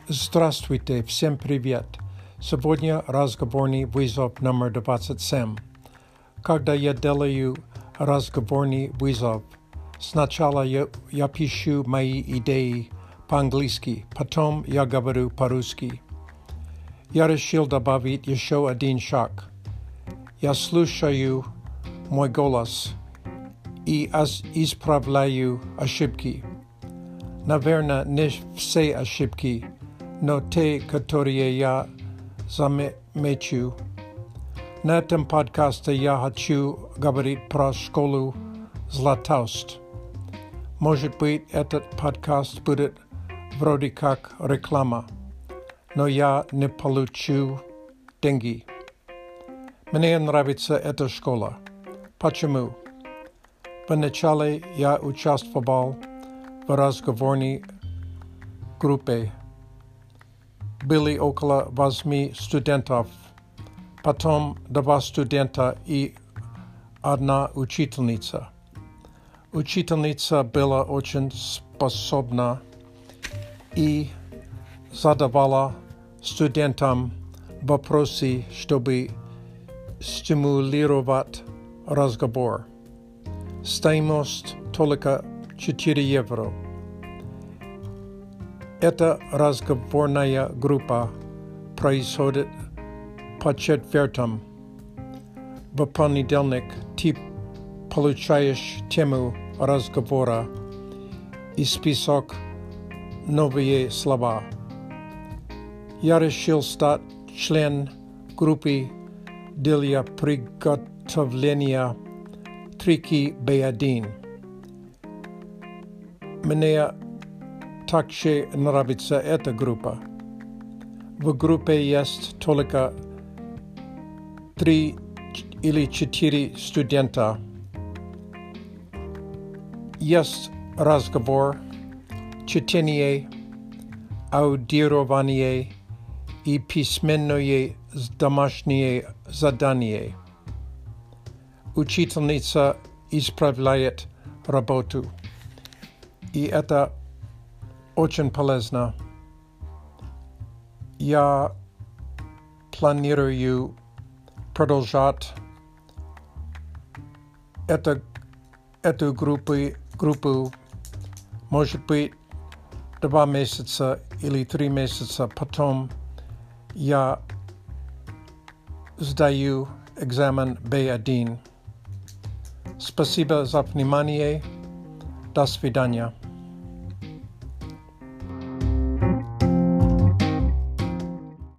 Здравствуйте, всем привет! Сегодня разговорный вызов номер 27. Когда я делаю разговорный вызов, сначала я пишу мои идеи по-английски, потом я говорю по-русски. Я решил добавить еще один шаг. Я слушаю мой голос и исправляю ошибки. Наверное, не все ошибки, но те, которые я замечу. На этом подкасте я хочу говорить про школу Златоуст. Может быть, этот подкаст будет вроде как реклама, но я не получу деньги. Мне нравится эта школа. Почему? Вначале я участвовал в разговорной группе. Были около 8 студентов, потом 2 студента и 1 учительница. Учительница была очень способна и задавала студентам вопросы, чтобы стимулировать разговор. Стоимость только 4 евро. Эта разговорная группа происходит по четвертям. В понедельник ты получаешь тему разговора и список новые слова. Я решил стать членом группы для приготовления трики B1. Мне также нравится эта группа. В группе есть только 3 или 4 студента. Есть разговор, чтение, аудирование и письменное домашнее задание. Учительница исправляет работу. И это очень полезно. Я планирую продолжать эту группу, может быть, 2 месяца или 3 месяца. Потом я сдаю экзамен B1. Спасибо за внимание. До свидания.